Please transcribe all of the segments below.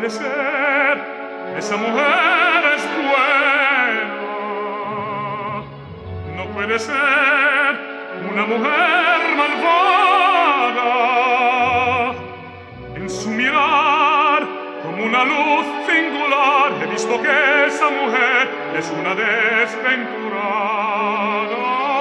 puede ser esa mujer es buena. No puede ser una mujer malvada. En su mirar como una luz singular he visto que esa mujer es una desventurada.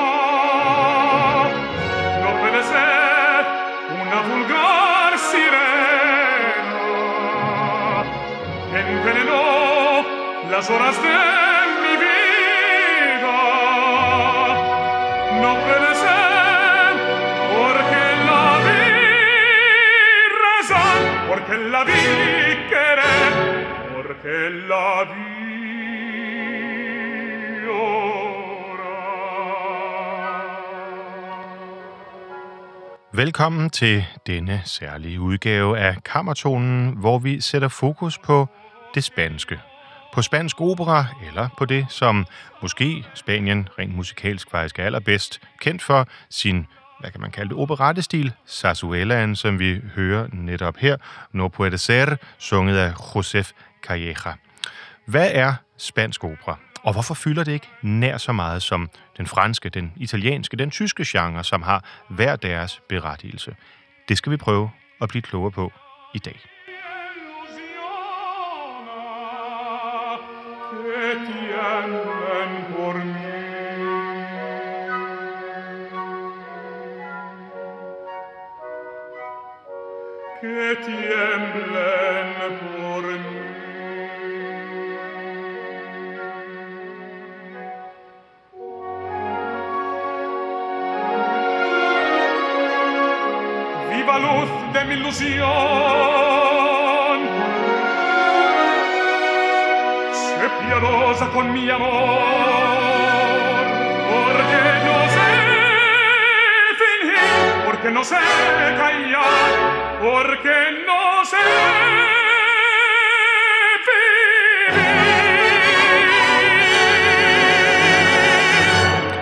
No puede ser una vulgar sirena que envenenó las horas de mi vida. No puede ser porque la vi rezar, porque la vi querer, porque la vi Velkommen til denne særlige udgave af Kammertonen, hvor vi sætter fokus på det spanske. På spansk opera, eller på det, som måske Spanien rent musikalsk faktisk er allerbedst kendt for, sin, hvad kan man kalde det, operettestil, zarzuelaen, som vi hører netop her, No puede ser, sunget af Josef Calleja. Hvad er spansk opera? Og hvorfor fylder det ikke nær så meget som den franske, den italienske, den tyske genre, som har hver deres berettigelse? Det skal vi prøve at blive klogere på i dag. Viva luz de mi ilusión, sé piadosa con mi amor, porque no sé fingir, porque no sé callar, porque no sé vivir.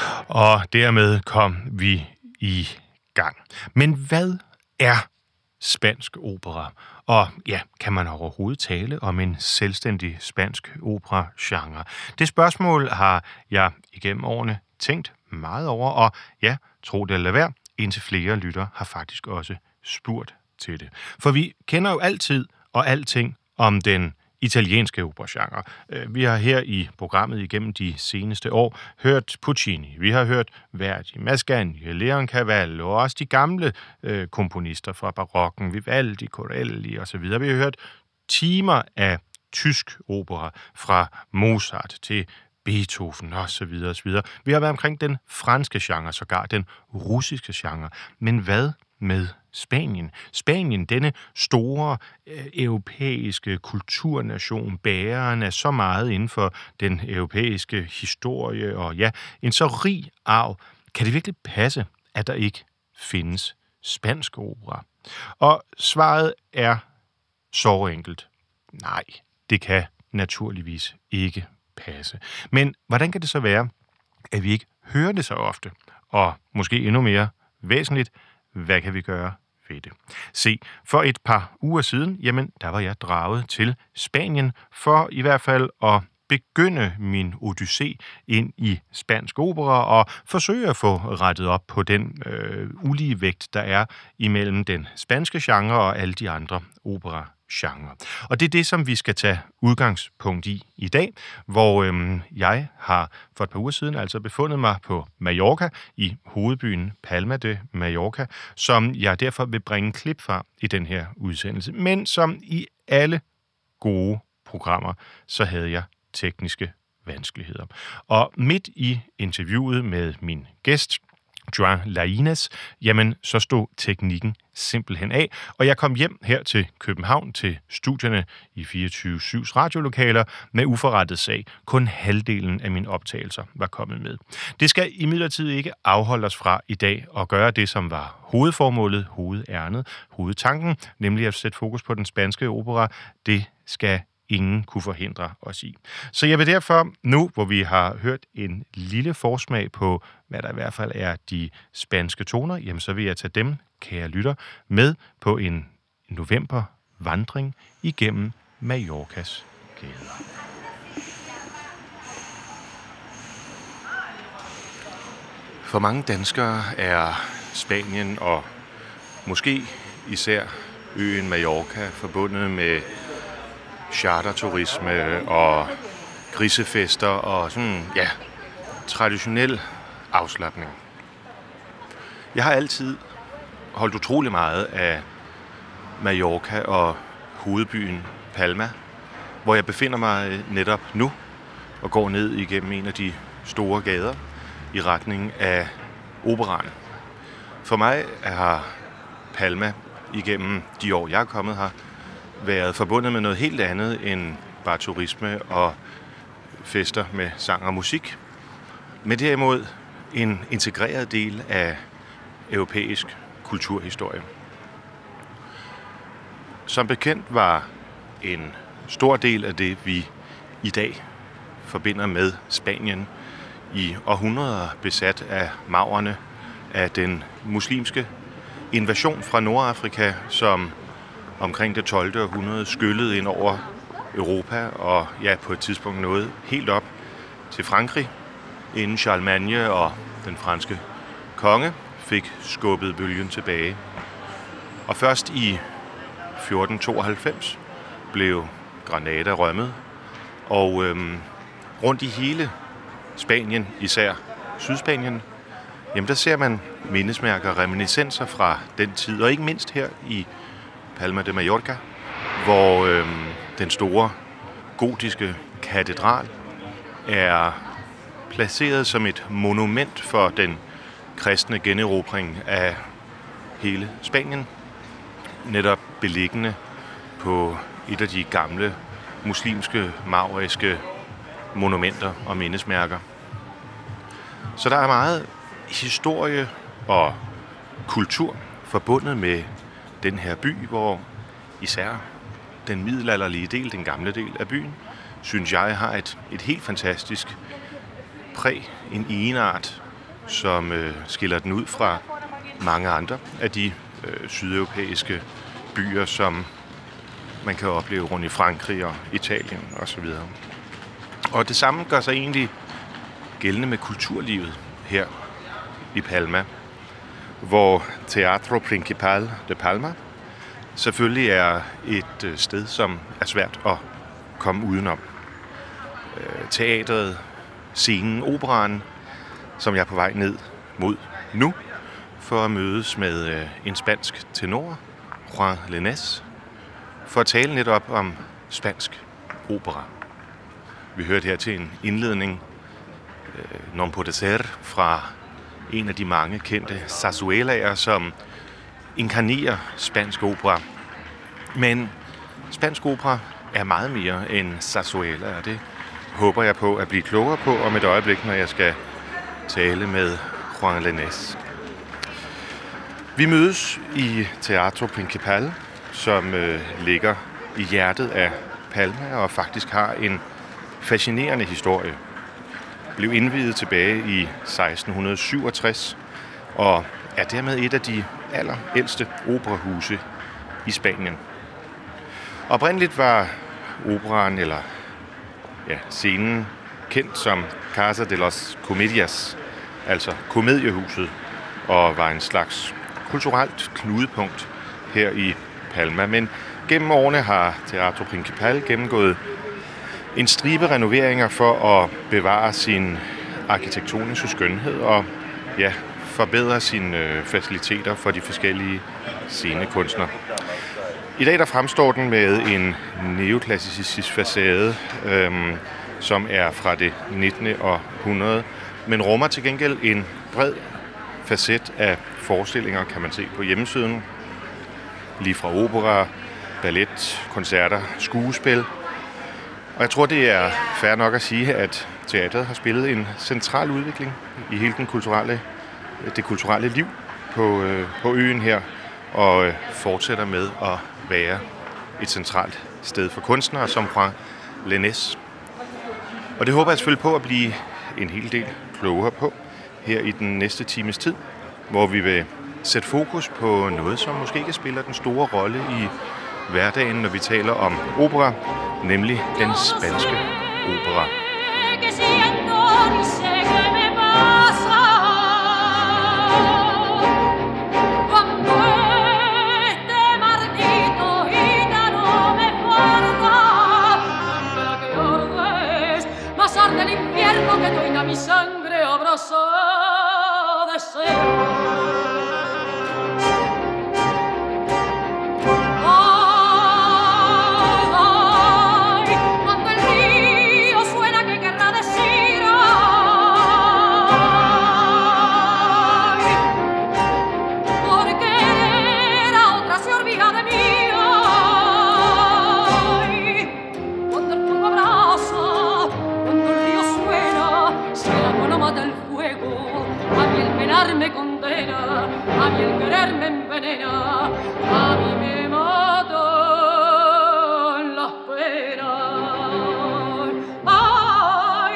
Og dermed kom vi i gang. Men hvad er spansk opera? Og ja, kan man overhovedet tale om en selvstændig spansk opera-genre? Det spørgsmål har jeg igennem årene tænkt meget over, og ja, tro det eller være, indtil flere lytter har faktisk også spurgt til det. For vi kender jo altid og alting om den italienske operagenre. Vi har her i programmet igennem de seneste år hørt Puccini, vi har hørt Verdi, Mascagni, Leoncavallo og også de gamle komponister fra barokken, Vivaldi, Corelli osv. Vi har hørt timer af tysk opera fra Mozart til Beethoven osv. osv. Vi har været omkring den franske genre, sågar den russiske genre. Men hvad med Spanien? Spanien, denne store europæiske kulturnation, bæreren af så meget inden for den europæiske historie, og ja, en så rig arv. Kan det virkelig passe, at der ikke findes spansk opera? Og svaret er så enkelt. Nej, det kan naturligvis ikke passe. Men hvordan kan det så være, at vi ikke hører det så ofte? Og måske endnu mere væsentligt, hvad kan vi gøre ved det? Se, for et par uger siden, jamen, der var jeg draget til Spanien for i hvert fald at begynde min odyssé ind i spansk opera og forsøge at få rettet op på den ulige vægt, der er imellem den spanske genre og alle de andre opera-genre. Og det er det, som vi skal tage udgangspunkt i dag, hvor jeg har for et par uger siden altså befundet mig på Mallorca, i hovedbyen Palma de Mallorca, som jeg derfor vil bringe klip fra i den her udsendelse. Men som i alle gode programmer, så havde jeg tekniske vanskeligheder. Og midt i interviewet med min gæst, Joan Lainez, jamen så stod teknikken simpelthen af, og jeg kom hjem her til København til studierne i 24/7's radiolokaler med uforrettet sag. Kun halvdelen af mine optagelser var kommet med. Det skal imidlertid ikke afholde os fra i dag at gøre det, som var hovedformålet, hovedærnet, hovedtanken, nemlig at sætte fokus på den spanske opera. Det skal ingen kunne forhindre os i. Så jeg vil derfor nu, hvor vi har hørt en lille forsmag på, hvad der i hvert fald er de spanske toner, jamen så vil jeg tage dem, kære lytter, med på en november vandring igennem Mallorcas gader. For mange danskere er Spanien og måske især øen Mallorca forbundet med charterturisme og grisefester og sådan, ja, traditionel afslapning. Jeg har altid holdt utrolig meget af Mallorca og hovedbyen Palma, hvor jeg befinder mig netop nu og går ned igennem en af de store gader i retning af Operaen. For mig har Palma igennem de år, jeg er kommet her, været forbundet med noget helt andet end bare turisme og fester med sang og musik, men derimod en integreret del af europæisk kulturhistorie. Som bekendt var en stor del af det, vi i dag forbinder med Spanien, i århundreder besat af maurerne, af den muslimske invasion fra Nordafrika, som omkring det 12. århundrede skyllede ind over Europa og ja, på et tidspunkt nåede helt op til Frankrig, inden Charlemagne og den franske konge fik skubbet bølgen tilbage. Og først i 1492 blev Granada rømmet, og rundt i hele Spanien, især Sydspanien, jamen der ser man mindesmærker og reminiscenser fra den tid, og ikke mindst her i Palma de Mallorca, hvor den store gotiske katedral er placeret som et monument for den kristne generobring af hele Spanien, netop beliggende på et af de gamle muslimske, mauriske monumenter og mindesmærker. Så der er meget historie og kultur forbundet med den her by, hvor især den middelalderlige del, den gamle del af byen, synes jeg har et helt fantastisk præg, en egenart, som skiller den ud fra mange andre af de sydeuropæiske byer, som man kan opleve rundt i Frankrig og Italien osv. Og det samme gør sig egentlig gældende med kulturlivet her i Palma, hvor Teatro Principal de Palma selvfølgelig er et sted, som er svært at komme udenom. Teatret, scenen, operaen, som jeg er på vej ned mod nu, for at mødes med en spansk tenor, Juan Lainez, for at tale netop om spansk opera. Vi hørte her til en indledning, Non puede ser, fra en af de mange kendte zarzuelaer, som inkarnerer spansk opera. Men spansk opera er meget mere end zarzuela, og det håber jeg på at blive klogere på om et øjeblik, når jeg skal tale med Juan Lainez. Vi mødes i Teatro Principal, som ligger i hjertet af Palma og faktisk har en fascinerende historie. Blev indviet tilbage i 1667 og er dermed et af de allerældste operahuse i Spanien. Oprindeligt var operaen, eller ja, scenen, kendt som Casa de los Comedias, altså komediehuset, og var en slags kulturelt knudepunkt her i Palma. Men gennem årene har Teatro Principal gennemgået en stribe renoveringer for at bevare sin arkitektoniske skønhed og ja, forbedre sine faciliteter for de forskellige scenekunstnere. I dag der fremstår den med en neoklassicistisk facade, som er fra det 19. århundrede, men rummer til gengæld en bred facet af forestillinger, kan man se på hjemmesiden. Lige fra opera, ballet, koncerter, skuespil. Og jeg tror, det er fair nok at sige, at teatret har spillet en central udvikling i hele det kulturelle liv på øen her, og fortsætter med at være et centralt sted for kunstnere som Juan Lainez. Og det håber jeg selvfølgelig på at blive en hel del klogere på her i den næste times tid, hvor vi vil sætte fokus på noget, som måske ikke spiller den store rolle i hverdagen, når vi taler om opera, nemlig den spanske opera. Mi sangre abrasa deseo. Ay, cuando el río suena, ¿qué querrá decir? Ay, porque la otra se olvida de mí. Ay, cuando el fuego abraza, cuando el río suena, si el agua no mata el fuego, a mí el penar me condena, a mí el querer me envenena, a mí me matan las penas. Ay.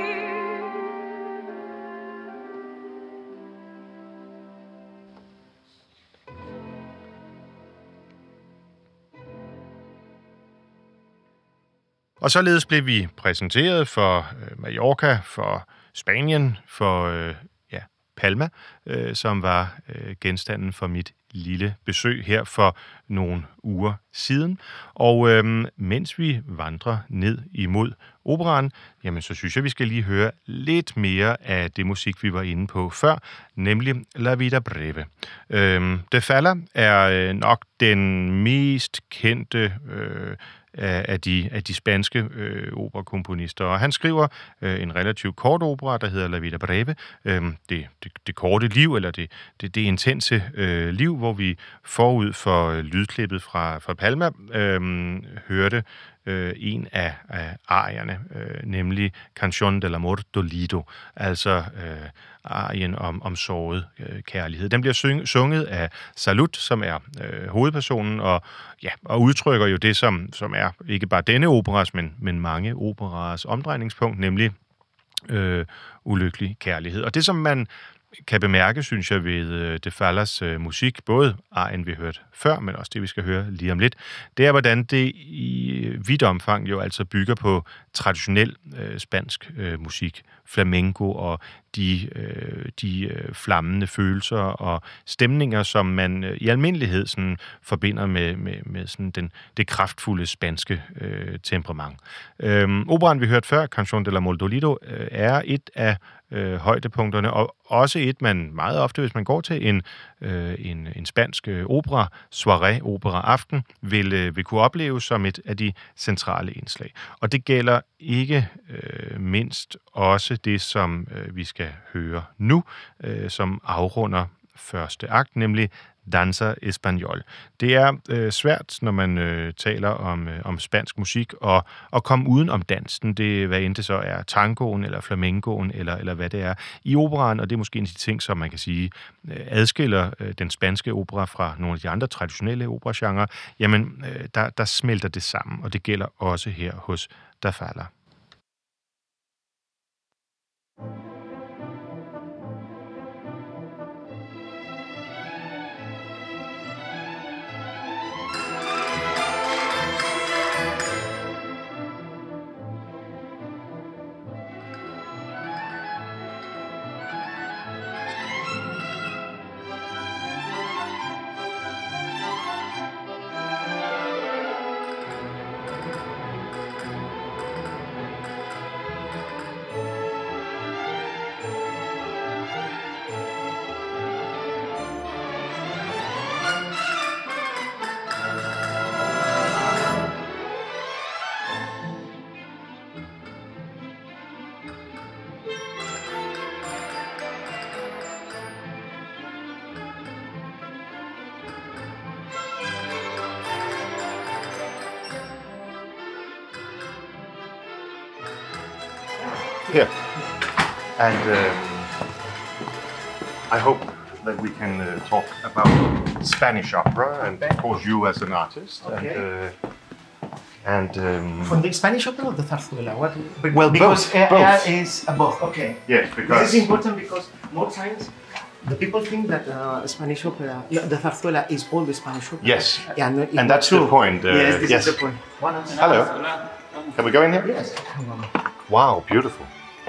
Og således blev vi præsenteret for Mallorca, for Spanien, for Palma, som var genstanden for mit lille besøg her for nogle uger siden. Og mens vi vandrer ned imod operaen, jamen så synes jeg, vi skal lige høre lidt mere af det musik, vi var inde på før, nemlig La Vida Breve. De Falla er nok den mest kendte af de spanske operakomponister. Og han skriver en relativt kort opera, der hedder La Vida Breve, det korte liv, eller det intense liv, hvor vi forud for lydklippet fra Palma hørte en af arierne, nemlig Canción del Amor Dolido, altså arien om såret kærlighed. Den bliver sunget af Salut, som er hovedpersonen, og udtrykker jo det, som er ikke bare denne operas, men mange operas omdrejningspunkt, nemlig ulykkelig kærlighed. Og det, som man kan bemærke, synes jeg, ved De Fallas musik, både arien, vi hørte før, men også det, vi skal høre lige om lidt, det er, hvordan det i vidt omfang jo altså bygger på traditionel spansk musik, flamenco og de flammende følelser og stemninger, som man i almindelighed sådan forbinder med sådan det kraftfulde spanske temperament. Operaen, vi hørte før, Canción del Amor Dolido, er et af højdepunkterne, og også et, man meget ofte, hvis man går til en spansk opera, soirée, opera-aften, vil kunne opleve som et af de centrale indslag. Og det gælder ikke mindst også det, som vi skal høre nu, som afrunder første akt, nemlig Danza Español. Det er svært, når man taler om spansk musik, at komme uden om dansen. Det, hvad end det så er tangoen, eller flamencoen, eller hvad det er i operaen, og det er måske en af de ting, som man kan sige adskiller den spanske opera fra nogle af de andre traditionelle operagenrer. Jamen, der smelter det sammen, og det gælder også her hos De Falla. Here. And I hope that we can talk about Spanish opera, and of course you as an artist. Okay. From the Spanish opera or the zarzuela? What? Well, because both. Is both. Okay. Yes, because this is important because more times The people think that Spanish opera, the zarzuela is all the Spanish opera. Yes. Yeah, no, it's And not that's true. the point. Yes, this yes. is the point. Hello. Can we go in here? Yes. Wow, beautiful.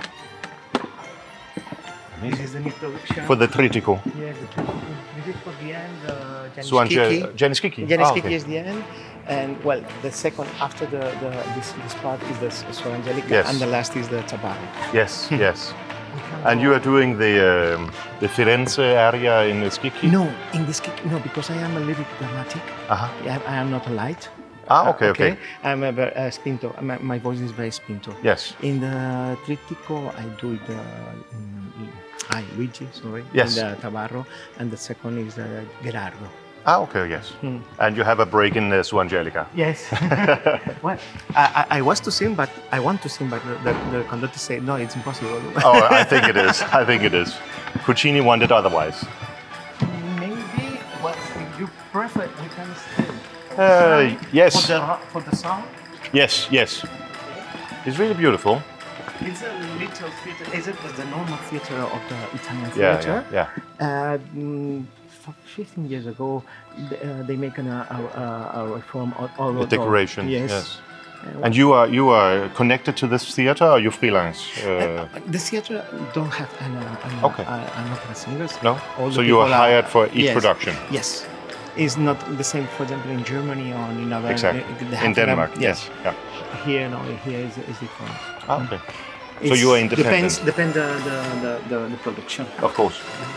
This is the new production. For the Tritico. Yes, this is for the end. Janis Kiki. Janis Kiki is the end. And well, the second after this part is the Suor Angelica, Yes. and the last is the Tabarro. Yes, yes. And you are doing the Firenze area in Schicchi? No, in this Kiki, no, because I am a little bit dramatic. Uh-huh. I am not a light. Okay. I'm a spinto. My voice is very spinto. Yes. In the Trittico, I do it. Luigi, sorry. Yes. In the Tabarro, and the second is Gerardo. Okay, yes. And you have a break in Suor Angelica. Yes. Well, I want to sing, but the conductor said no, it's impossible. Oh, I think it is. I think it is. Puccini wanted otherwise. Maybe. Well, if you prefer, we can stay. Yes. For the sound. Yes. It's really beautiful. It's a little theater. Is it the normal theater of the Italian Yeah, theater? yeah. 15 years ago, they make a reform all The decoration. Yes. And you are connected to this theater, or you freelance? The theater don't have an opera singers. No. All So the you are people hired for each yes, production. Yes. It's not the same, for example, in Germany or in other. Exactly. they have In Denmark. Yes. Yeah. Here, no. Here is different. Okay. So you are independent. Depends the production. Of course.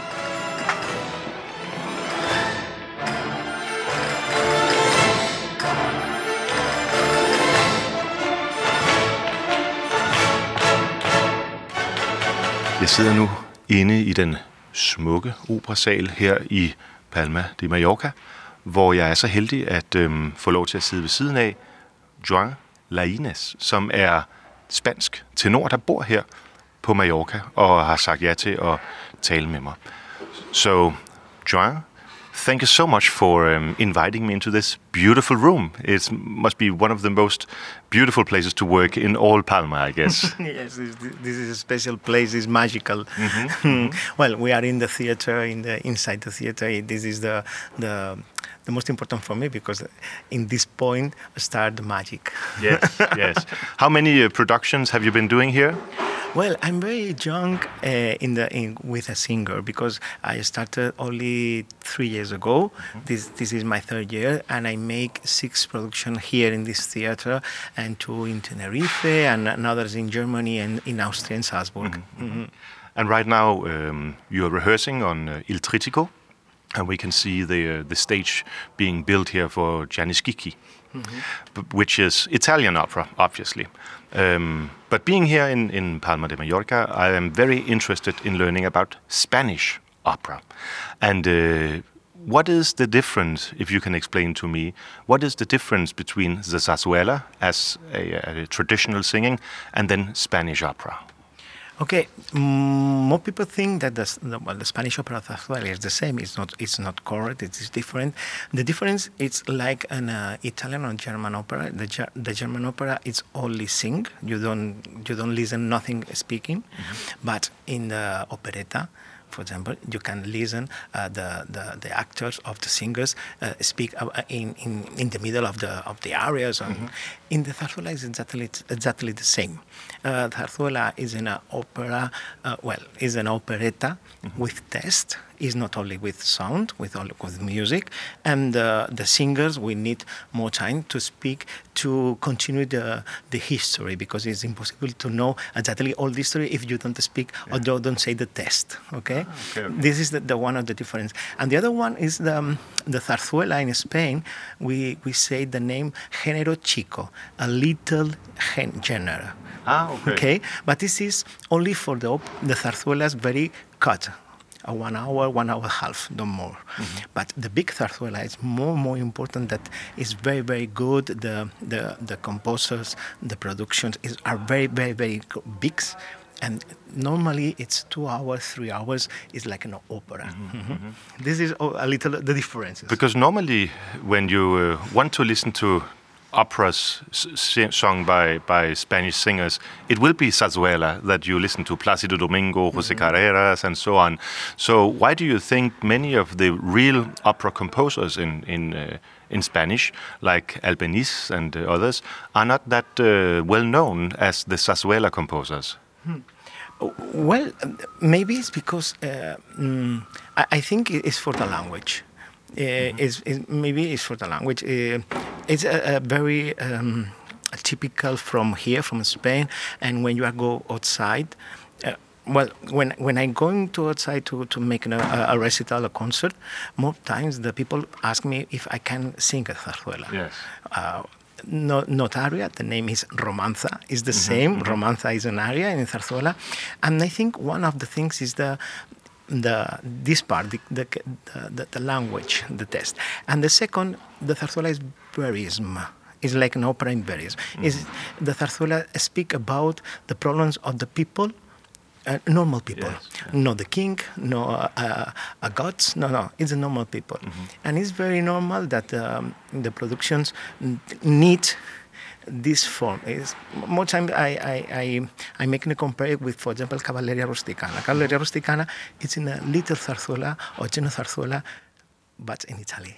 Jeg sidder nu inde i den smukke operasal her i Palma de Mallorca, hvor jeg er så heldig at få lov til at sidde ved siden af Joan Lainez, som er spansk tenor, der bor her på Mallorca og har sagt ja til at tale med mig. So, Joan, thank you so much for inviting me into this beautiful room. It must be one of the most beautiful places to work in all Palma, I guess. Yes, this is a special place. It's magical. Well, we are in the theater, inside the theater. This is the most important for me because in this point start the magic. Yes. How many productions have you been doing here? Well, I'm very young with a singer because I started only 3 years ago. This is my third year, and I make 6 productions here in this theater, and 2 in Tenerife, and others in Germany and in Austria and Salzburg. And right now you're rehearsing on Il Tritico, and we can see the stage being built here for Janis Kiki, which is Italian opera, obviously. But being here in Palma de Mallorca, I am very interested in learning about Spanish opera. And what is the difference, if you can explain to me, what is the difference between the zarzuela as a traditional singing and then Spanish opera? Okay, more people think that the Spanish opera zarzuela is the same. It's not correct. It is different. The difference is like an Italian or German opera. The German opera is only sing. You don't listen nothing speaking. But in the operetta, for example, you can listen the actors of the singers speak in the middle of the arias. In the zarzuela, is exactly the same. Zarzuela is an opera. Is an operetta with text. Is not only with sound, with music, and the singers will need more time to speak to continue the history, because it's impossible to know exactly all the history if you don't speak or don't say the text. Okay? This is the one of the difference, and the other one is the zarzuela in Spain. We say the name género chico, a little genre. Okay, but this is only for the zarzuelas very cut. 1 hour, 1 hour and a half, no more. But the big zarzuela is more important. That is very, very good. The composers, the productions are very, very, very big. And normally it's 2 hours, 3 hours. It's like an opera. This is a little the difference. Because normally when you want to listen to operas sung by Spanish singers, it will be zarzuela that you listen to, Plácido Domingo, José Carreras, and so on. So why do you think many of the real opera composers in Spanish, like Albéniz and others, are not that well known as the zarzuela composers? Well, maybe it's because I think it's for the language. Maybe it's for the language. It's a very typical from here, from Spain. And when you go outside, when I'm going to outside to make a recital, a concert, more times the people ask me if I can sing a zarzuela. Yes. Not aria, the name is romanza, is the same. Romanza is an aria in zarzuela. And I think one of the things is this part, the language, the test. And the second, the zarzuela is verism. It's like an opera in verism. The zarzuela speak about the problems of the people, normal people. Yes. Not the king, no gods, no, it's the normal people. And it's very normal that the productions need this form. More time I make a compare with, for example, Cavalleria Rusticana. Cavalleria Rusticana, it's in a little zarzuela or general zarzuela, but in Italy.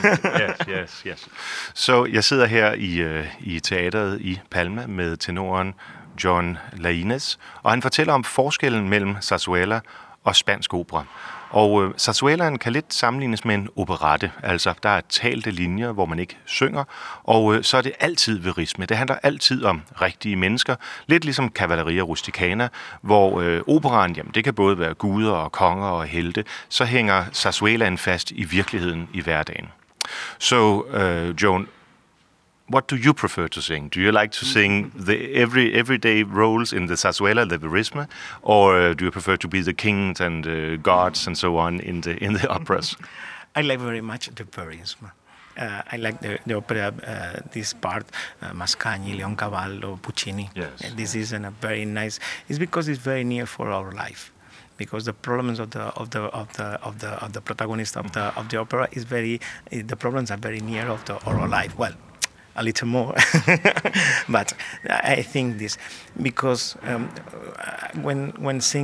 Yes. Så jeg sidder her i teateret i Palma med tenoren John Lainez, og han fortæller om forskellen mellem zarzuela og spansk opera. Og zarzuelaen kan lidt sammenlignes med en operette, altså der er talte linjer, hvor man ikke synger, og så er det altid verisme. Det handler altid om rigtige mennesker, lidt ligesom Cavalleria Rusticana, hvor operaen, jamen det kan både være guder og konger og helte, så hænger zarzuelaen fast i virkeligheden i hverdagen. So, Joan, what do you prefer to sing? Do you like to sing the everyday roles in the zarzuela, the verisme, or do you prefer to be the kings and gods and so on in the operas? I like very much the verisme. I like the opera, this part, Mascagni, Leoncavallo, Puccini. Yes. This is a very nice. It's because it's very near for our life. Because the problems of the protagonist of the opera is the problems are very near of our life. Well, a little more, but I think this because when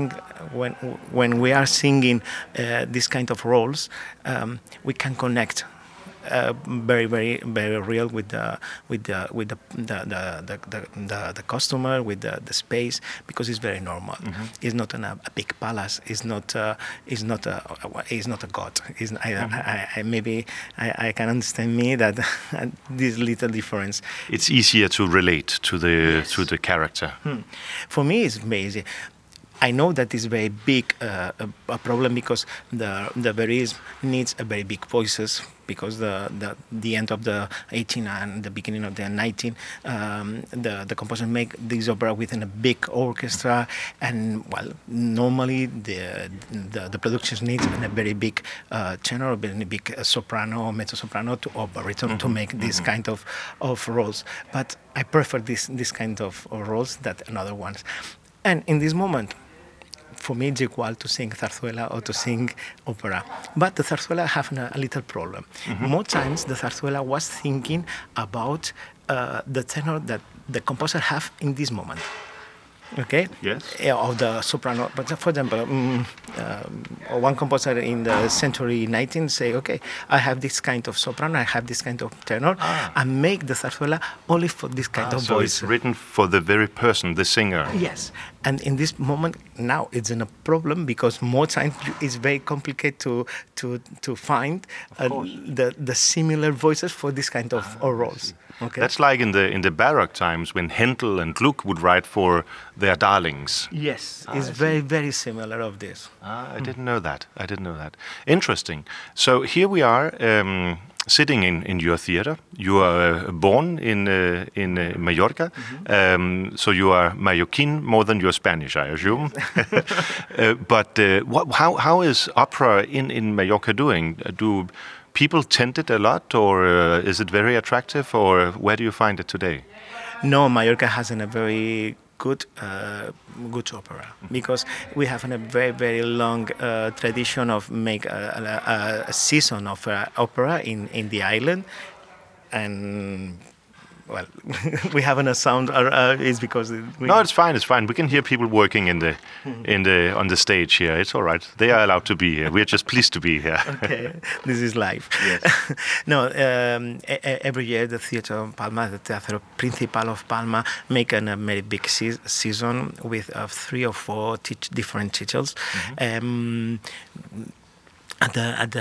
we are singing this kind of roles, we can connect very real with the customer, with the space, because it's very normal. It's not a big palace. It's not a god. Maybe I can understand me that this little difference. It's easier to relate to the character. For me, it's amazing. I know that is very big a problem because the verisme needs a very big voices, because the end of the 18 and the beginning of the 19, the composer make this opera within a big orchestra, and well, normally the productions need a very big tenor, a very big soprano, mezzo soprano, or baritone to make this kind of roles. But I prefer this kind of roles than another ones. And in this moment, for me, it's equal to sing zarzuela or to sing opera. But the zarzuela have a little problem. More times, the zarzuela was thinking about the tenor that the composer have in this moment. Okay? Yes. Of the soprano. But for example, one composer in the century 19 say, okay, I have this kind of soprano, I have this kind of tenor, and make the zarzuela only for this kind of so voice. It's written for the very person, the singer. Yes. And in this moment, now it's in a problem because more times it's very complicated to find the similar voices for this kind of roles. Okay. That's like in the Baroque times when Handel and Gluck would write for their darlings. Yes, it's very similar of this. I didn't know that. Interesting. So here we are sitting in your theater. You are born in Mallorca, so you are Mallorquin more than you're Spanish, I assume. But how is opera in Mallorca doing? Do people tend it a lot, or is it very attractive, or where do you find it today? No, Mallorca has a very good opera, because we have a very long tradition of make a season of opera in the island, and well, we haven't a sound. It's because No, it's fine. It's fine. We can hear people working on the stage here. It's all right. They are allowed to be here. We're just pleased to be here. Okay, this is live. Yes. No, every year the Theatre of Palma, the Teatro Principal of Palma, make a very big season with 3 or 4 different titles. At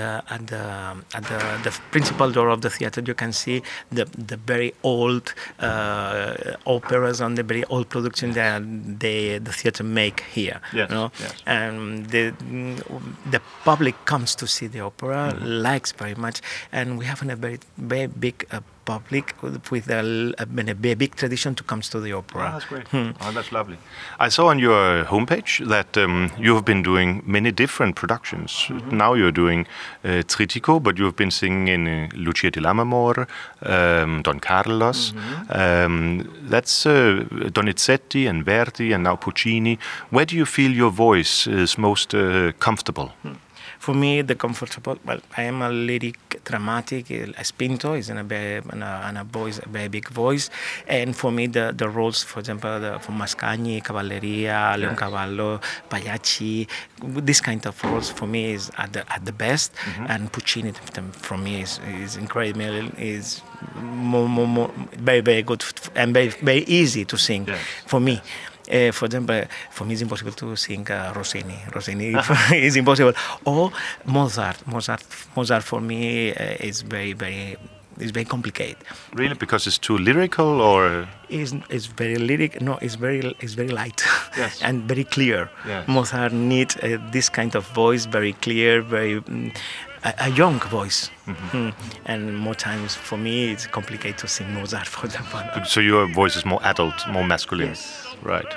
the principal door of the theater, you can see the very old operas and the very old production that the theater make here. Yes, You know? yes. And the public comes to see the opera, likes very much, and we have a very big public with a big tradition to come to the opera. Oh, that's great. Oh, that's lovely. I saw on your homepage that you have been doing many different productions. Now you're doing Trittico, but you have been singing in Lucia di Lammermoor, Don Carlos. That's Donizetti and Verdi and now Puccini. Where do you feel your voice is most comfortable? For me, the comfortable. Well, I am a lyric, dramatic. Spinto is in a voice, a very big voice, and for me, the roles, for example, for Mascagni, Cavalleria, Leoncavallo, Pagliacci, this kind of roles for me is at the best, and Puccini for me is incredible. Is more very very good and very easy to sing for me. For example, for me it's impossible to sing Rossini. Rossini is impossible. Or Mozart. Mozart for me is very complicated. Really, because it's too lyrical, or It's very lyric. No, it's very light and very clear. Yes. Mozart needs this kind of voice, very clear, very a young voice. And more times for me it's complicated to sing Mozart, for example. so your voice is more adult, more masculine. Yes. Right.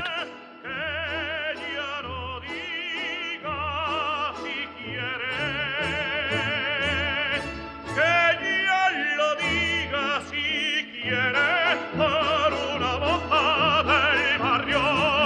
Ella lo diga si quiere, que ella lo diga si quiere, por una moza del barrio.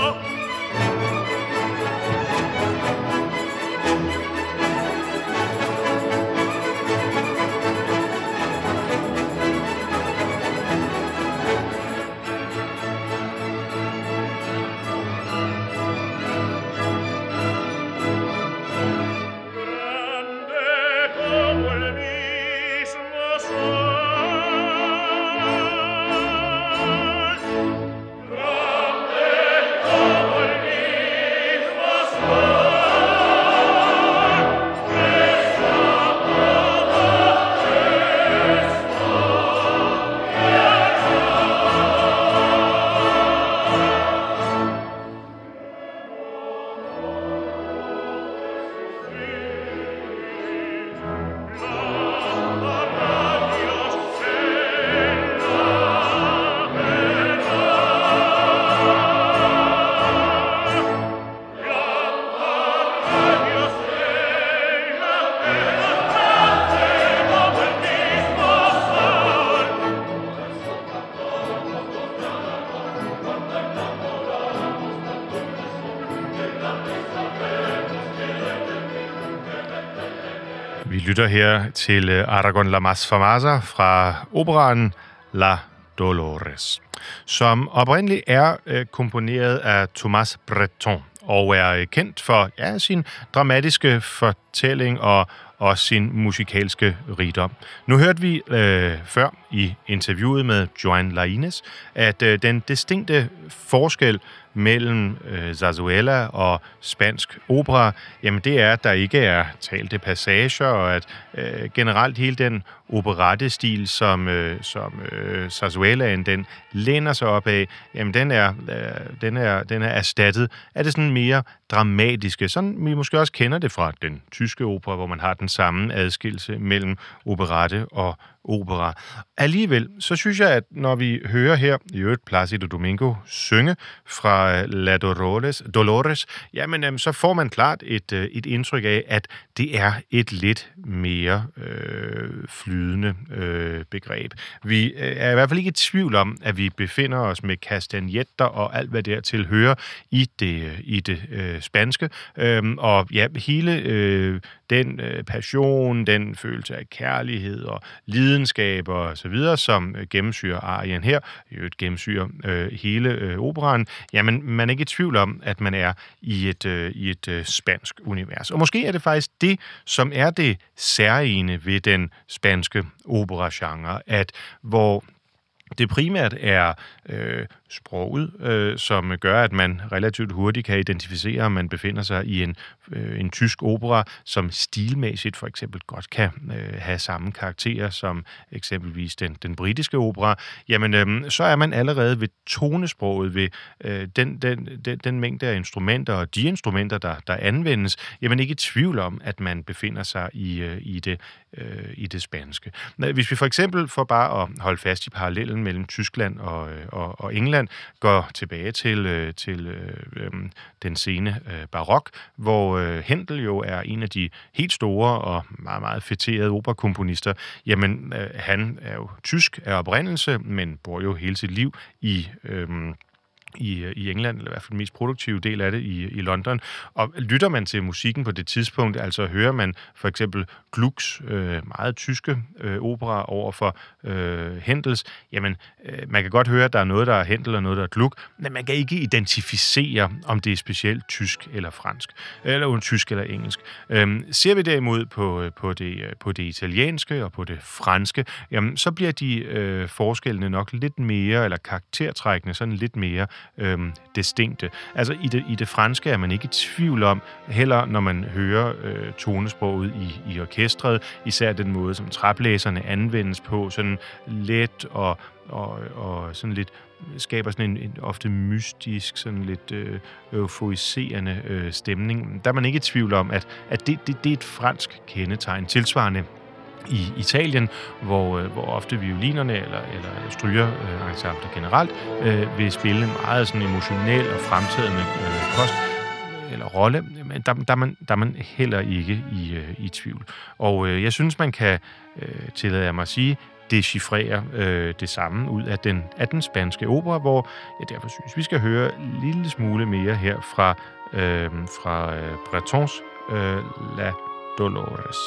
Vi lytter her til Aragon La Mas Famosa fra operaen La Dolores, som oprindeligt er komponeret af Thomas Bretton og er kendt for sin dramatiske fortælling og sin musikalske rigdom. Nu hørte vi før i interviewet med Joan Lainez, at den distinkte forskel mellem zarzuela og spansk opera, jamen det er, at der ikke er talte passager, og at generelt hele den operette-stil, som zarzuelaen den læner sig op af, jamen den er erstattet af det sådan mere dramatiske, sådan vi måske også kender det fra den tyske opera, hvor man har den samme adskillelse mellem operette og opera. Alligevel, så synes jeg, at når vi hører her i øvrigt Plácido Domingo synge fra fra La Dolores, jamen så får man klart et indtryk af, at det er et lidt mere flydende begreb. Vi er i hvert fald ikke i tvivl om, at vi befinder os med kastanjetter og alt, hvad dertil hører i det spanske. Og ja, hele den passion, den følelse af kærlighed og lidenskab og så videre, som gennemsyrer arien her, gennemsyrer hele operaen, jamen man er ikke i tvivl om, at man er i et spansk univers. Og måske er det faktisk det, som er det særegne ved den spanske operagenre, at hvor det primært er sproget, som gør, at man relativt hurtigt kan identificere, om man befinder sig i en tysk opera, som stilmæssigt for eksempel godt kan have samme karakterer som eksempelvis den britiske opera, jamen så er man allerede ved tonesproget, ved den mængde af instrumenter og de instrumenter, der anvendes, jamen ikke i tvivl om, at man befinder sig i det spanske. Hvis vi for eksempel, for bare at holde fast i parallellen mellem Tyskland og England, går tilbage til den sene barok, hvor Händel jo er en af de helt store og meget, meget fætterede operakomponister. Jamen, han er jo tysk af oprindelse, men bor jo hele sit liv i England, eller i hvert fald den mest produktive del af det i London. Og lytter man til musikken på det tidspunkt, altså hører man for eksempel Glucks meget tyske opera over for Händels, jamen man kan godt høre, at der er noget, der er Händel og noget, der er Gluck, men man kan ikke identificere, om det er specielt tysk eller fransk, eller tysk eller engelsk. Ser vi derimod på det italienske og på det franske, jamen så bliver de forskellene nok lidt mere, eller karaktertrækkende sådan lidt mere distinkte. Altså i det franske er man ikke i tvivl om, heller når man hører tonesproget i orkestret, især den måde, som traplæserne anvendes på, sådan let og sådan lidt skaber sådan en ofte mystisk, sådan lidt euforiserende stemning. Der er man ikke i tvivl om, at det er et fransk kendetegn. Tilsvarende i Italien, hvor ofte violinerne eller strygerensembler generelt vil spille en meget sådan emotionel og fremtrædende post eller rolle, men der er man heller ikke i tvivl. Og jeg synes, man kan tillade mig at sige, dechiffrere det samme ud af den spanske opera, hvor jeg derfor synes, vi skal høre en lille smule mere her fra Bretons La Dolores.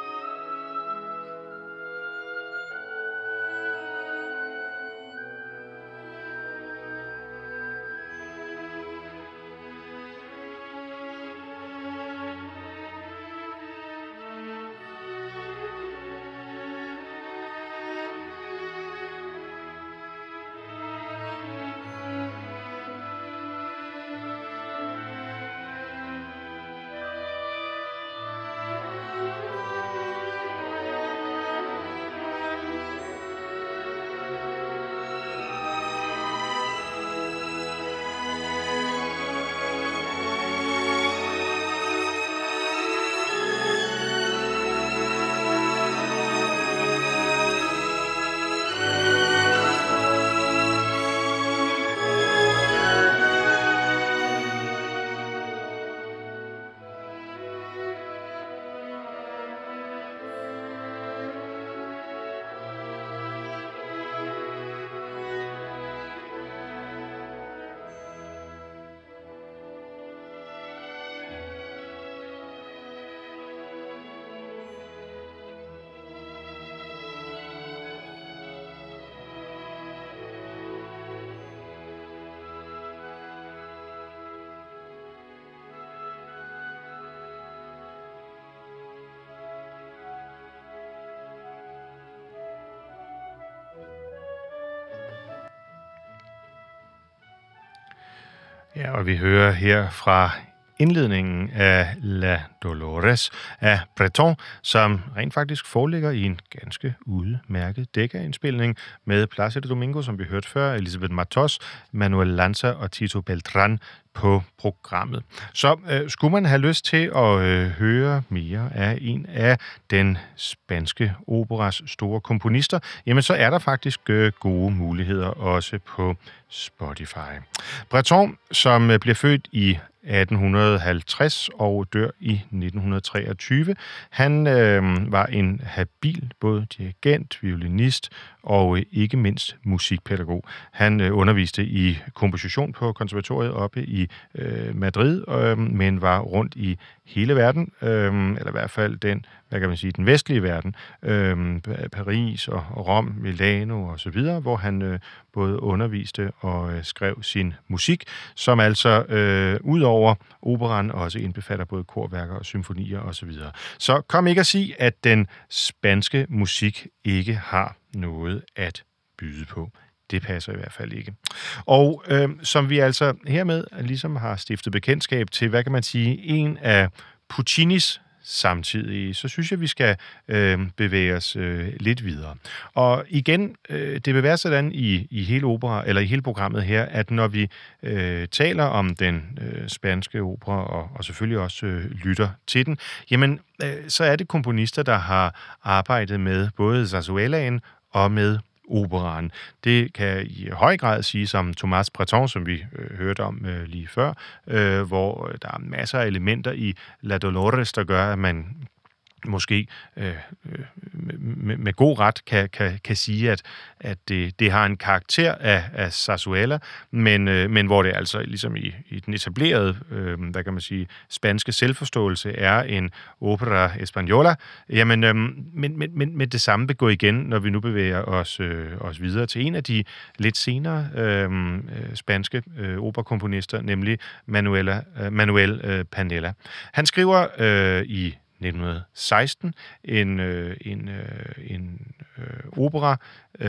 Ja, og vi hører her fra indledningen af La Dolores af Breton, som rent faktisk foreligger i en ganske udmærket dækkerindspilning med Plácido Domingo, som vi hørte før, Elisabeth Matos, Manuel Lanza og Tito Beltrán på programmet. Så skulle man have lyst til at høre mere af en af den spanske operas store komponister, jamen så er der faktisk gode muligheder også på Spotify. Breton, som bliver født i 1850 og dør i 1923. Han var en habil både dirigent, violinist og ikke mindst musikpædagog. Han underviste i komposition på konservatoriet oppe i Madrid, men var rundt i hele verden, eller i hvert fald den vestlige verden, Paris og Rom, Milano og så videre, hvor han både underviste og skrev sin musik, som altså udover operaen også indbefatter både korværker og symfonier og så videre. Så kom ikke at sige, at den spanske musik ikke har noget at byde på. Det passer i hvert fald ikke. Og som vi altså hermed ligesom har stiftet bekendtskab til, hvad kan man sige, en af Puccinis samtidig, så synes jeg, vi skal bevæge os lidt videre. Og igen, det vil være sådan i hele opera, eller i hele programmet her, at når vi taler om den spanske opera, og selvfølgelig også lytter til den, jamen, så er det komponister, der har arbejdet med både zarzuelaen og med operaen. Det kan i høj grad siges om Tomàs Bretón, som vi hørte om lige før, hvor der er masser af elementer i La Dolores, der gør, at man måske med god ret kan sige, at det har en karakter af zarzuela, men hvor det altså ligesom i den etablerede, hvad kan man sige, spanske selvforståelse er en opera española, jamen, men det samme vil gå igen, når vi nu bevæger os videre til en af de lidt senere spanske operakomponister, nemlig Manuel Panella. Han skriver i 1916 en opera,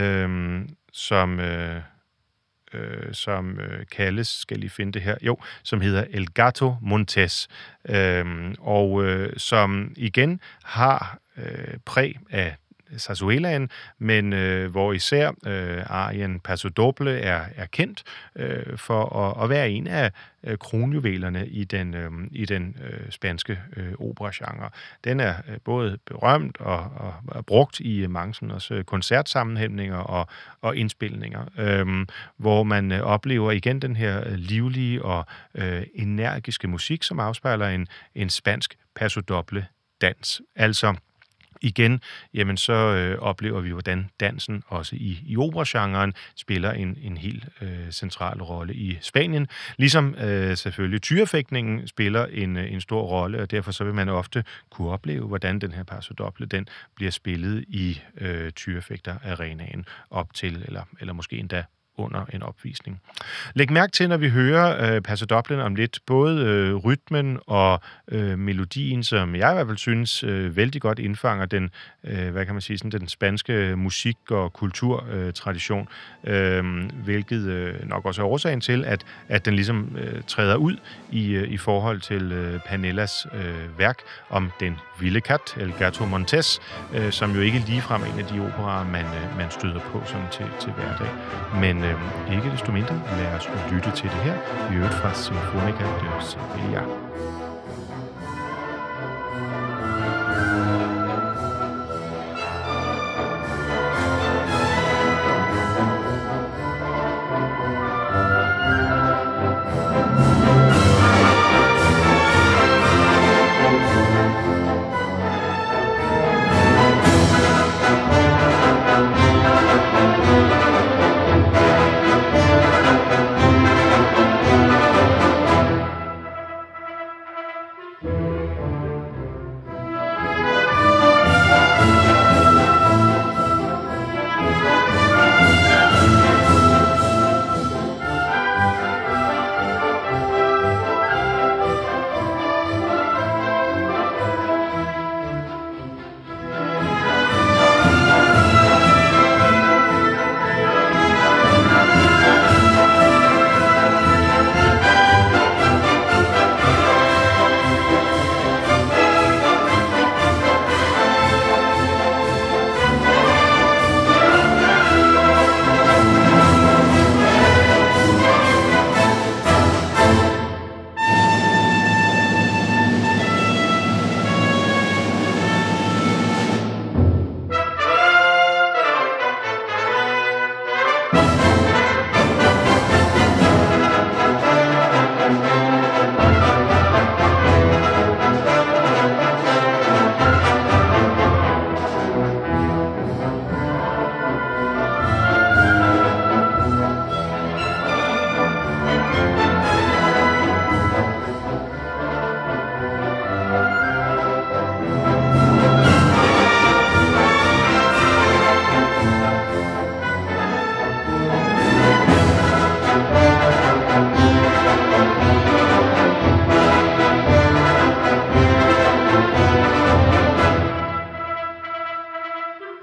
som kaldes, skal I finde det her, som hedder El Gato Montés, og som igen har præg af zarzuelaen, men hvor især arien Paso Doble er kendt for at være en af kronjuvelerne i den spanske operagenre. Den er både berømt og brugt i mange sådan også koncertsammenhængninger og indspilninger, hvor man oplever igen den her livlige og energiske musik, som afspejler en spansk Paso Doble dans. Altså igen, jamen så oplever vi, hvordan dansen også i operagenren spiller en helt central rolle i Spanien. Ligesom selvfølgelig tyrefægtningen spiller en stor rolle, og derfor så vil man ofte kunne opleve, hvordan den her Paso Doble, den bliver spillet i tyrefægterarenaen op til, eller måske endda under en opvisning. Læg mærke til, når vi hører Paso Doblen om lidt, både rytmen og melodien, som jeg i hvert fald synes vældig godt indfanger den, hvad kan man sige, sådan den spanske musik- og kulturtradition, hvilket nok også er årsagen til, at den ligesom træder ud i forhold til Panellas værk om den vilde kat, El Gato Montés, som jo ikke ligefrem er en af de operaer, man støder på sådan til hverdag. Men ikke desto mindre, lad os lytte til det her, i øvrigt fra Sinfónica de Sevilla.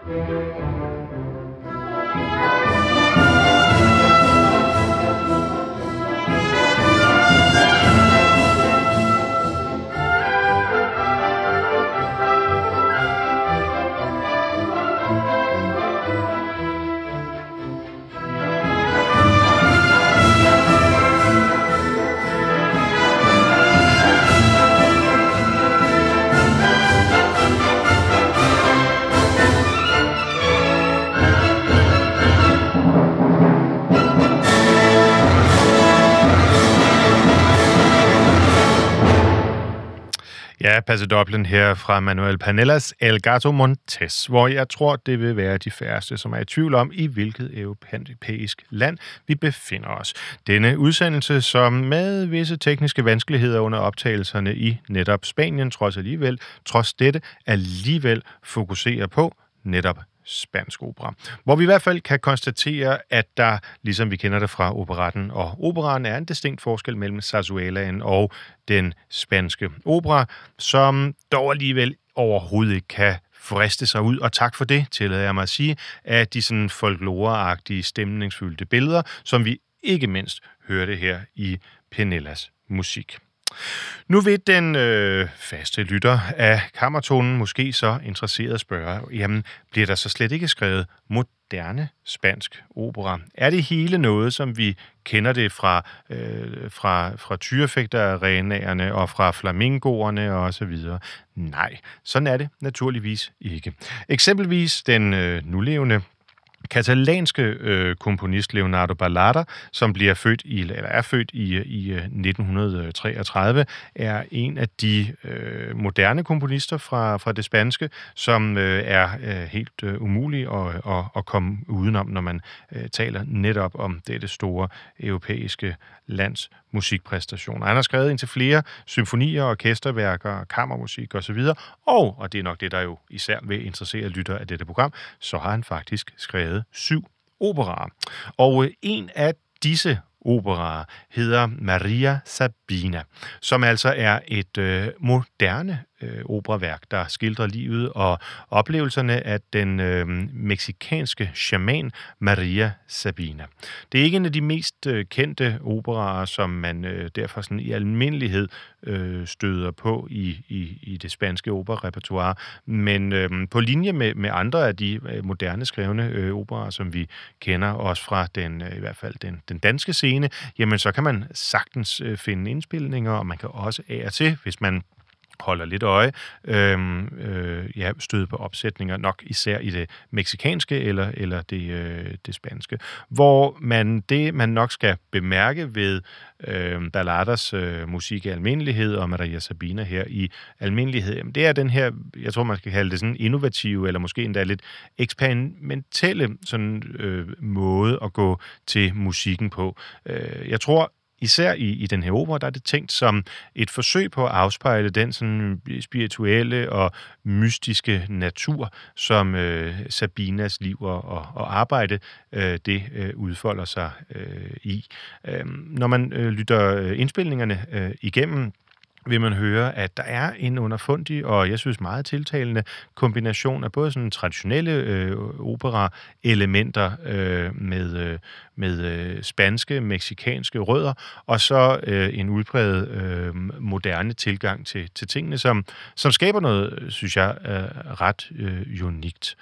Ja, Paso Dublin her fra Manuel Panellas El Gato Montes, hvor jeg tror, det vil være de færreste, som er i tvivl om, i hvilket europæisk land vi befinder os. Denne udsendelse, som med visse tekniske vanskeligheder under optagelserne i netop Spanien, trods dette alligevel fokuserer på netop spansk opera. Hvor vi i hvert fald kan konstatere, at der, ligesom vi kender det fra operetten og operaen, er en distinkt forskel mellem zarzuelaen og den spanske opera, som dog alligevel overhovedet ikke kan friste sig ud, og tak for det, tillader jeg mig at sige, af de sådan folkloreagtige, stemningsfyldte billeder, som vi ikke mindst hørte her i Penellas musik. Nu vil den faste lytter af kammertonen måske så interesseret spørge, jamen bliver der så slet ikke skrevet moderne spansk opera? Er det hele noget, som vi kender det fra tyrefægterarenaerne og fra flamingoerne og så videre? Nej, sådan er det naturligvis ikke. Eksempelvis den nulevende katalanske komponist Leonardo Balada, som er født i 1933, er en af de moderne komponister fra det spanske, som er helt umulig at komme udenom, når man taler netop om dette store europæiske lands musikpræstationer. Han har skrevet indtil flere symfonier, orkesterværker, kammermusik osv., og det er nok det, der jo især vil interessere lytter af dette program, så har han faktisk skrevet 7 operaer. Og en af disse operaer hedder Maria Sabina, som altså er et moderne operaværk, der skildrer livet og oplevelserne af den meksikanske shaman Maria Sabina. Det er ikke en af de mest kendte operaer, som man derfor sådan i almindelighed støder på i det spanske operarepertoire, men på linje med andre af de moderne skrevne operaer, som vi kender også fra i hvert fald den danske scene, jamen så kan man sagtens finde indspilninger, og man kan også af og til, hvis man holder lidt øje, støde på opsætninger, nok især i det meksikanske eller det spanske. Hvor man nok skal bemærke ved Balladas musik i almindelighed, og Maria Sabina her i almindelighed, det er den her, jeg tror man skal kalde det sådan innovative, eller måske endda lidt eksperimentelle sådan, måde at gå til musikken på. Jeg tror, især i den her opera, der er det tænkt som et forsøg på at afspejle den sådan spirituelle og mystiske natur, som Sabinas liv og arbejde det udfolder sig i. Når man lytter indspilningerne igennem, vil man høre, at der er en underfundig og jeg synes meget tiltalende kombination af både sådan traditionelle opera-elementer med spanske, meksikanske rødder, og så en udpræget moderne tilgang til tingene, som skaber noget, synes jeg, ret unikt.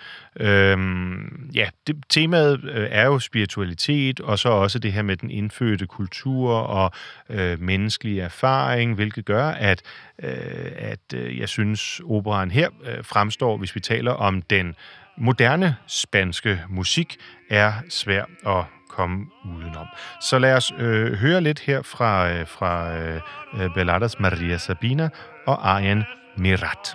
Temaet er jo spiritualitet, og så også det her med den indfødte kultur og menneskelig erfaring, hvilket gør, at jeg synes, operaen her fremstår, hvis vi taler om den moderne spanske musik, er svær at komme udenom. Så lad os høre lidt her fra Balladas Maria Sabina og arien Mirat.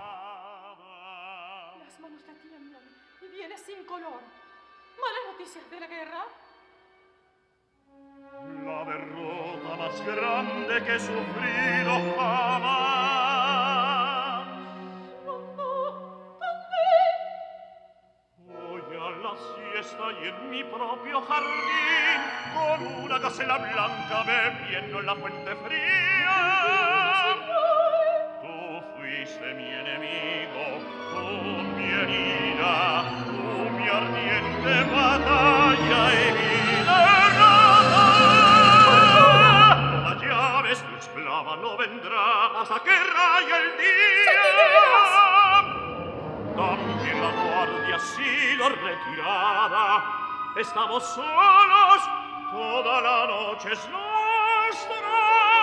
Grande que he sufrido jamás. Voy a la siesta y en mi propio jardín con una gacela blanca bebiendo en la fuente fría. Tú fuiste mi enemigo, tú mi herida, tú hasta que raye el día. También la guardia ha sido retirada. Estamos solos, toda la noche es nuestra.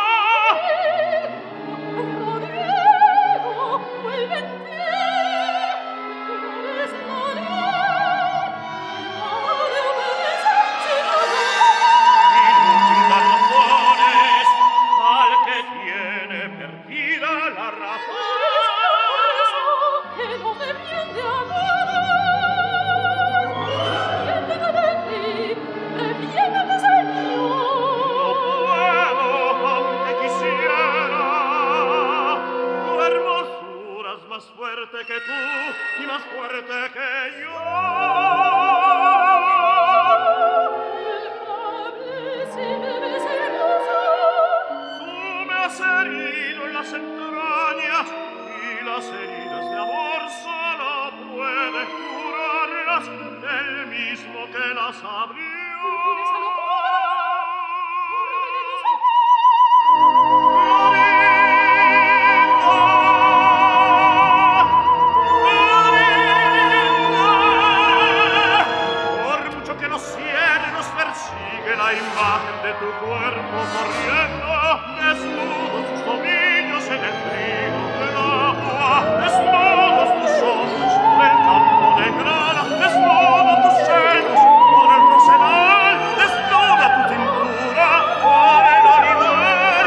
Rodrigo, vuelve en ti. Tú eres Inútil dar razones al que tiene perdida la razón. que no defiende a nada. Defiéndete de ti, defiéndete, Señor. No puedo, aunque quisiera. Tu hermosura es más fuerte que tú y más fuerte que yo. Tú me has herido en las entrañas y las heridas de amor solo puede curarlas el mismo que las abrió. Por mucho que los cielos persigue la imagen de tu cuerpo corriendo, desnudos tus tobillos en el trigo del agua, desnudos tus ojos por el campo de grana, desnudos tus senos por el rosedal, desnuda tu cintura por el olivar,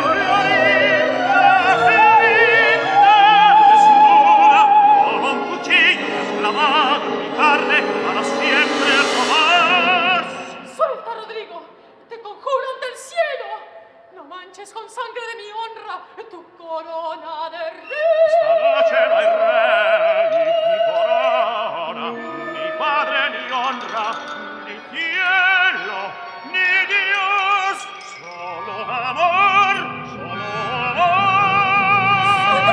desnuda como un cuchillo desclavado en mi carne para siempre jamás. Suelta, Rodrigo, te conjuro ante el cielo. No manches con sangre de mi honra tu corona de rey. Esta noche no hay rey, ni corona, ni padre, ni honra, ni cielo, ni Dios, solo amor, solo amor.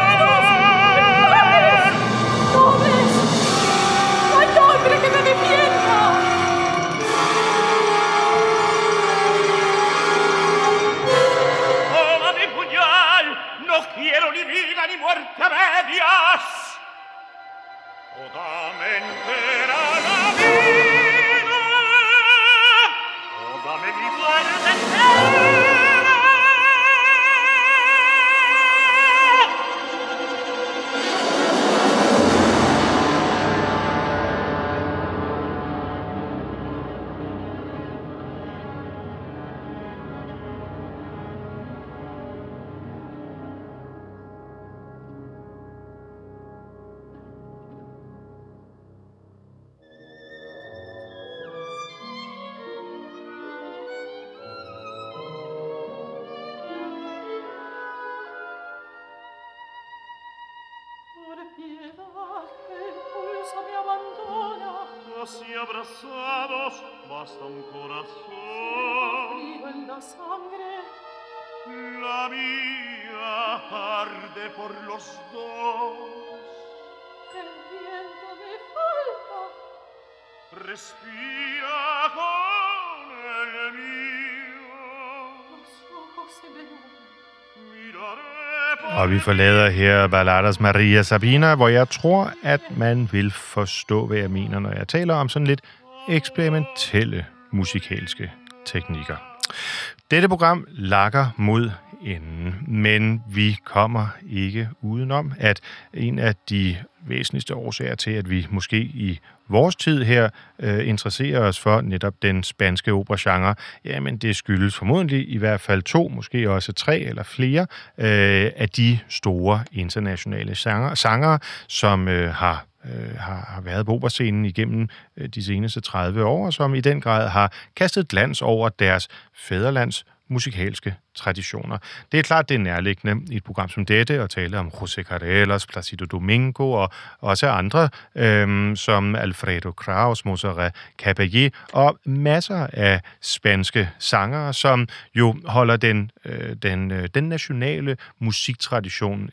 ¿No ves? No hay hombre que me defienda. Toma mi puñal, no quiero ni vida ni muerte a medias. O dame entera la vida, o dame mi muerte entera. Por piedad, el pulso me abandona. Así abrazados basta un corazón. Frío en la sangre. La mía arde por los dos. El viento me falta. Respira con el mío. Los ojos se me nublan. Miraré por Og vi forlader her Balladas Maria Sabina, hvor jeg tror, at man vil forstå, hvad jeg mener, når jeg taler om sådan lidt eksperimentelle musikalske teknikker. Dette program lakker mod enden, men vi kommer ikke udenom, at en af de væsentligste årsager til, at vi måske i vores tid her interesserer os for netop den spanske operagenre, jamen det skyldes formodentlig i hvert fald 2, måske også 3 eller flere af de store internationale sangere, som har været på operascenen igennem de seneste 30 år, og som i den grad har kastet glans over deres fædrelands musikalske traditioner. Det er klart, det er nærliggende i et program som dette at tale om José Carreras, Placido Domingo og også andre, som Alfredo Kraus, Montserrat Caballé og masser af spanske sangere, som jo holder den nationale musiktradition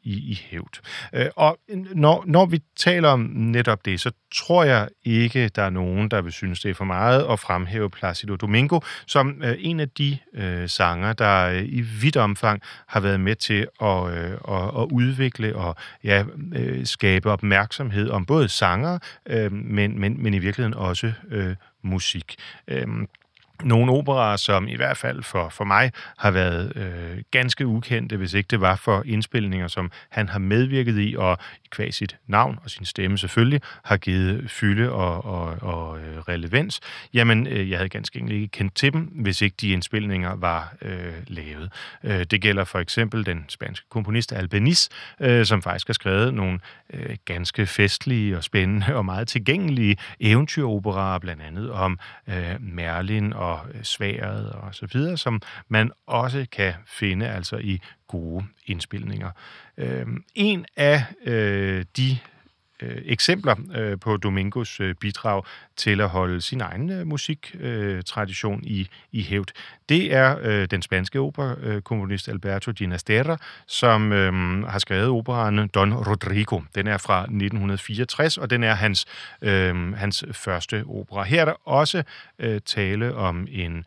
i hævd. Og når vi taler om netop det, så tror jeg ikke, der er nogen, der vil synes, det er for meget at fremhæve Plácido Domingo som en af de sanger, der i vidt omfang har været med til at udvikle og skabe opmærksomhed om både sanger, men i virkeligheden også musik. Nogle operaer, som i hvert fald for mig har været ganske ukendte, hvis ikke det var for indspilninger, som han har medvirket i, og qua sit navn og sin stemme selvfølgelig, har givet fylde og relevans. Jamen, jeg havde ganske enkelt ikke kendt til dem, hvis ikke de indspilninger var lavet. Det gælder for eksempel den spanske komponist Albéniz, som faktisk har skrevet nogle ganske festlige og spændende og meget tilgængelige eventyroperaer, blandt andet om Merlin og Sværdet og så videre, som man også kan finde altså i gode indspilninger. En af de eksempler på Domingos bidrag til at holde sin egen musiktradition i hævd, det er den spanske operakomponist Alberto Ginastera, som har skrevet operaen Don Rodrigo. Den er fra 1964, og den er hans første opera. Her er der også tale om en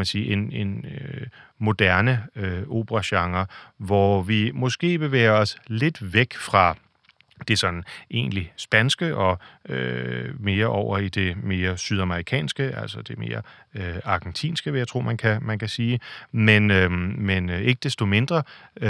moderne operagenre, hvor vi måske bevæger os lidt væk fra det sådan egentlig spanske og mere over i det mere sydamerikanske, altså det mere argentinske, vil jeg tro, man kan sige. Men ikke desto mindre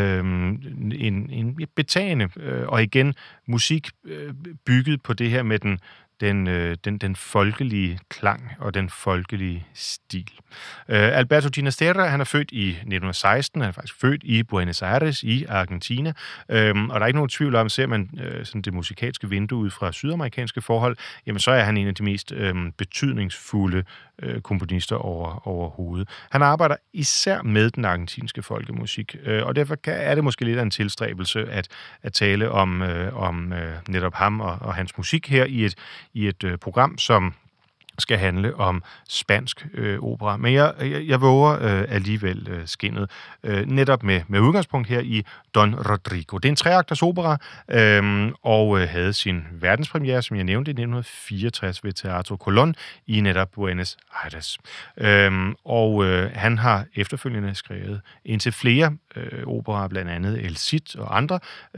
en betagende og igen musik bygget på det her med den folkelige klang og den folkelige stil. Alberto Ginastera, han er født i 1916, han er faktisk født i Buenos Aires i Argentina, og der er ikke nogen tvivl om, ser man sådan det musikalske vindue ud fra sydamerikanske forhold, jamen så er han en af de mest betydningsfulde komponister overhovedet. Han arbejder især med den argentinske folkemusik, og derfor er det måske lidt af en tilstræbelse at tale om netop ham og hans musik her i et program, som skal handle om spansk opera. Men jeg våger alligevel skinnet, netop med udgangspunkt her i Don Rodrigo. Det er en treakters opera, og havde sin verdenspremiere, som jeg nævnte, i 1964 ved Teatro Colón i netop Buenos Aires. Han har efterfølgende skrevet indtil flere operaer, blandt andet El Cid og andre,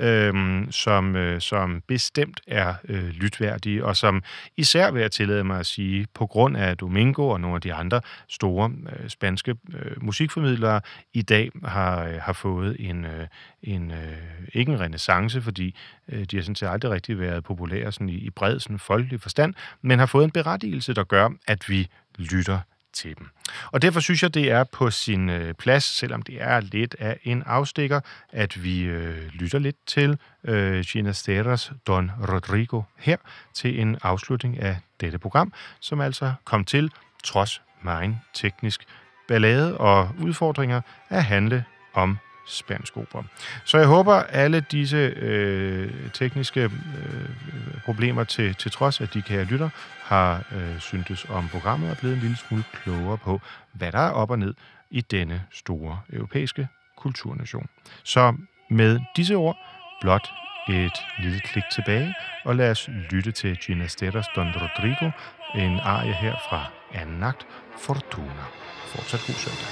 som bestemt er lytværdige, og som især vil jeg tillade mig at sige, på grund af Domingo og nogle af de andre store spanske musikformidlere i dag har fået ikke en renæssance, fordi de har sådan set aldrig rigtig været populære sådan i bred sådan folkelig forstand, men har fået en berettigelse, der gør, at vi lytter til dem. Og derfor synes jeg, det er på sin plads, selvom det er lidt af en afstikker, at vi lytter lidt til Ginasteras Don Rodrigo her til en afslutning af dette program, som altså kom til, trods megen teknisk ballade og udfordringer, at handle om spansk opera. Så jeg håber, alle disse tekniske problemer til trods, at de kære lytter har syntes om programmet og blevet en lille smule klogere på, hvad der er op og ned i denne store europæiske kulturnation. Så med disse ord blot et lille klik tilbage, og lad os lytte til Ginasteras Don Rodrigo, en arie her fra anden akt, Fortuna. Fortsat god søndag.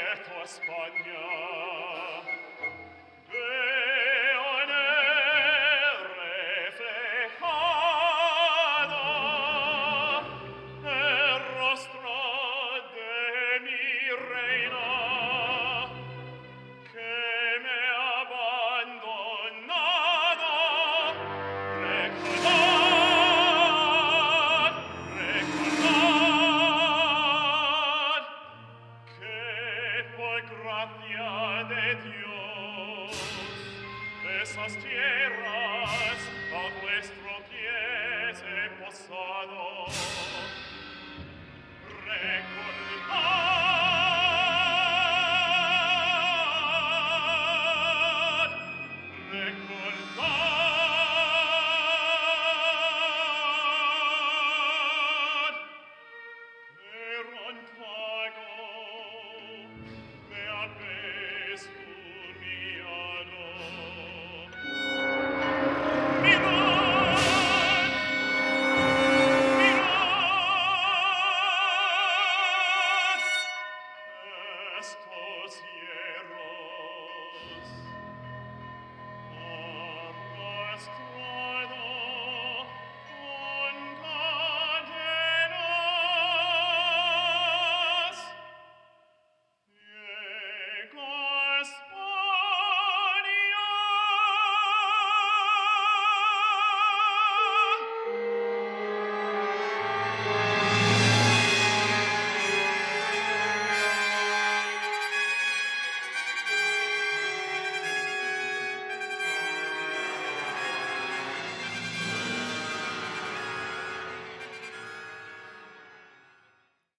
tua Spagna. Esas tierras a vuestro pies he posado. Recordad, recordad, eran pago, me habéis humillado. Mirad, mirad, estos hierros a vuestro